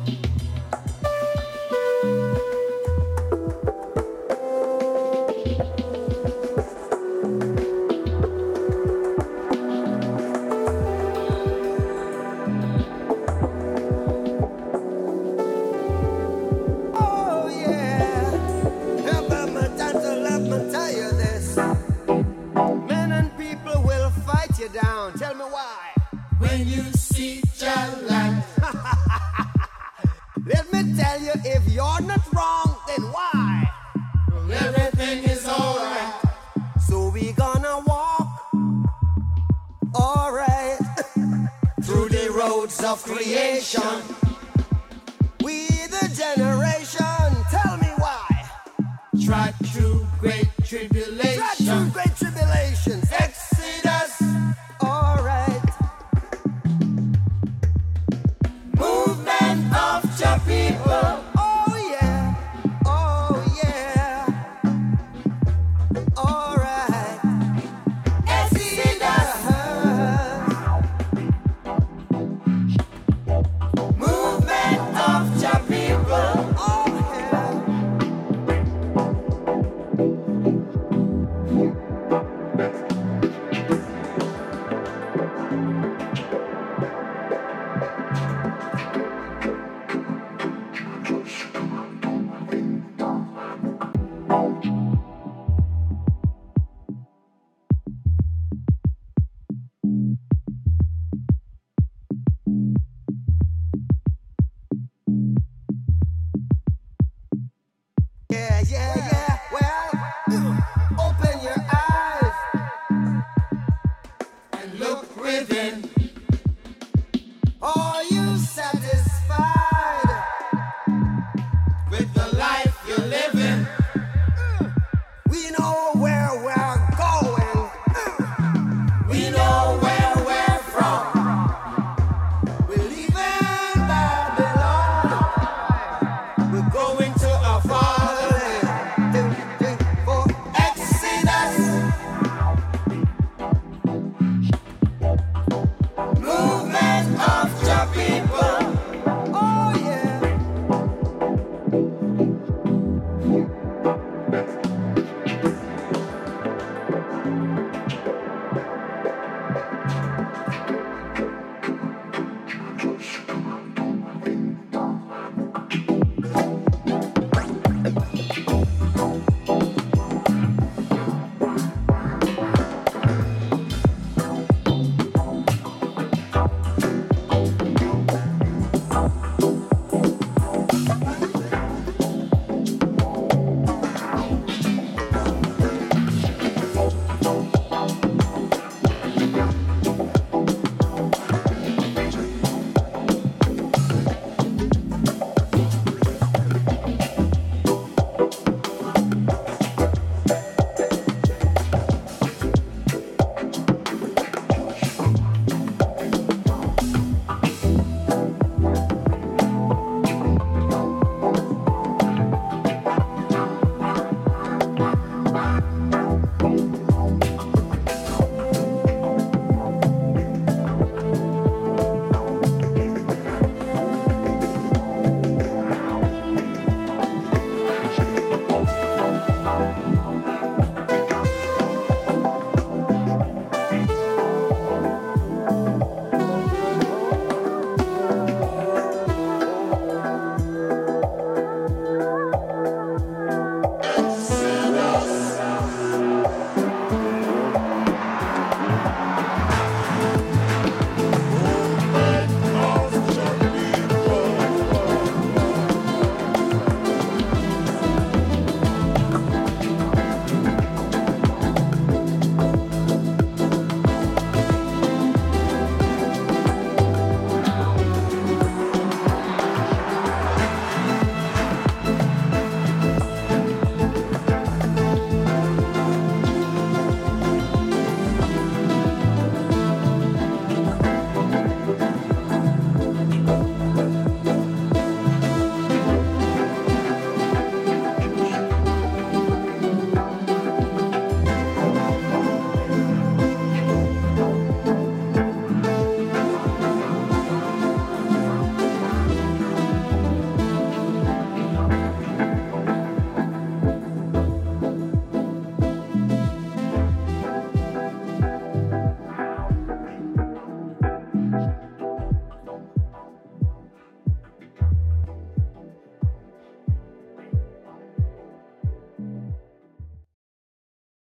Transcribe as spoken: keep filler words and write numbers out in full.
Down. Tell me why. When you see Jah light. Let me tell you, if you're not wrong, then why? Everything is alright. So we gonna walk, alright, through the roads of creation. We the generation. Tell me why. Try through great tribulation. Try through great tribulations. Exodus. Movement of Jah people. Oh yeah, oh yeah. All right. Exodus. Movement of Jah people. Oh yeah, yeah, yeah.